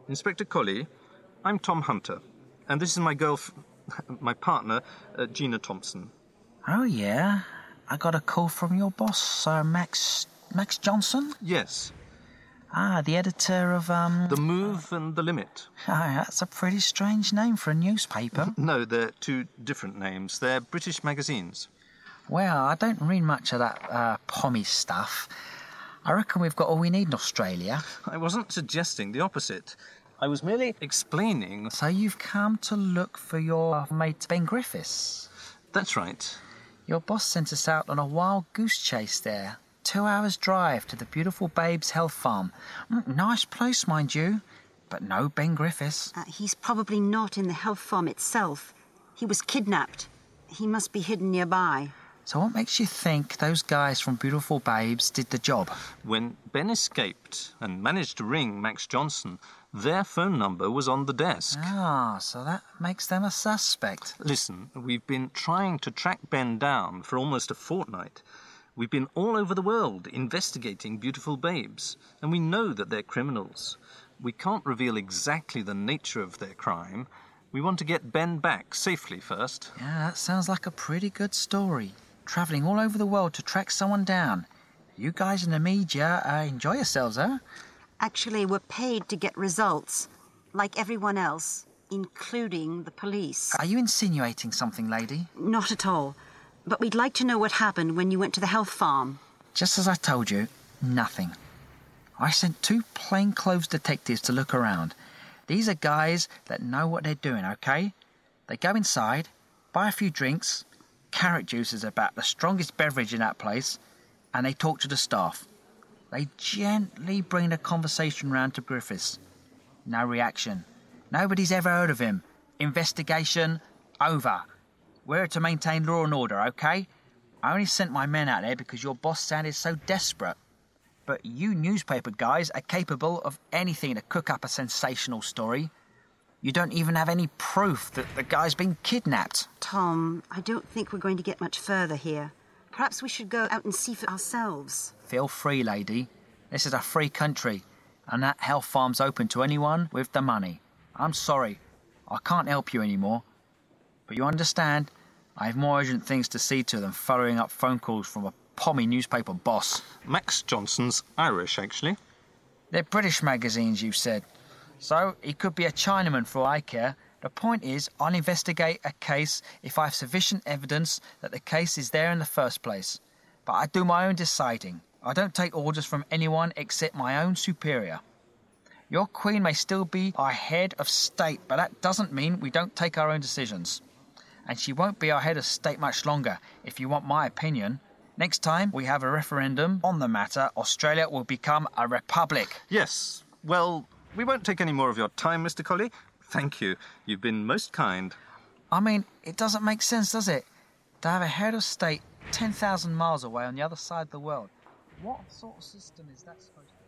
Inspector Colley, I'm Tom Hunter, and this is my my partner, Gina Thompson. Oh, yeah? I got a call from your boss, Sir Max Johnson? Yes. Ah, the editor of, The Move and the Limit. Oh, that's a pretty strange name for a newspaper. No, they're two different names. They're British magazines. Well, I don't read much of that, pommy stuff. I reckon we've got all we need in Australia. I wasn't suggesting the opposite. I was merely explaining... So you've come to look for your mate Ben Griffiths? That's right. Your boss sent us out on a wild goose chase there. 2 hours drive to the beautiful Babes Health Farm. Nice place, mind you, but no Ben Griffiths. He's probably not in the health farm itself. He was kidnapped. He must be hidden nearby. So what makes you think those guys from Beautiful Babes did the job? When Ben escaped and managed to ring Max Johnson, their phone number was on the desk. Ah, so that makes them a suspect. Listen, we've been trying to track Ben down for almost a fortnight. We've been all over the world investigating Beautiful Babes, and we know that they're criminals. We can't reveal exactly the nature of their crime. We want to get Ben back safely first. Yeah, that sounds like a pretty good story. Travelling all over the world to track someone down. You guys in the media enjoy yourselves, huh? Actually, we're paid to get results, like everyone else, including the police. Are you insinuating something, lady? Not at all. But we'd like to know what happened when you went to the health farm. Just as I told you, nothing. I sent 2 plainclothes detectives to look around. These are guys that know what they're doing, okay? They go inside, buy a few drinks, carrot juice is about the strongest beverage in that place, and they talk to the staff. They gently bring the conversation round to Griffiths. No reaction. Nobody's ever heard of him. Investigation over. We're to maintain law and order, okay? I only sent my men out there because your boss sounded so desperate. But you newspaper guys are capable of anything to cook up a sensational story. You don't even have any proof that the guy's been kidnapped. Tom, I don't think we're going to get much further here. Perhaps we should go out and see for ourselves. Feel free, lady. This is a free country, and that health farm's open to anyone with the money. I'm sorry, I can't help you anymore. But you understand, I have more urgent things to see to than following up phone calls from a pommy newspaper boss. Max Johnson's Irish, actually. They're British magazines, you said. So, he could be a Chinaman for all I care. The point is, I'll investigate a case if I have sufficient evidence that the case is there in the first place. But I do my own deciding. I don't take orders from anyone except my own superior. Your queen may still be our head of state, but that doesn't mean we don't take our own decisions. And she won't be our head of state much longer, if you want my opinion. Next time we have a referendum on the matter, Australia will become a republic. Yes. Well, we won't take any more of your time, Mr. Colley. Thank you. You've been most kind. I mean, it doesn't make sense, does it? To have a head of state 10,000 miles away on the other side of the world. What sort of system is that supposed to be?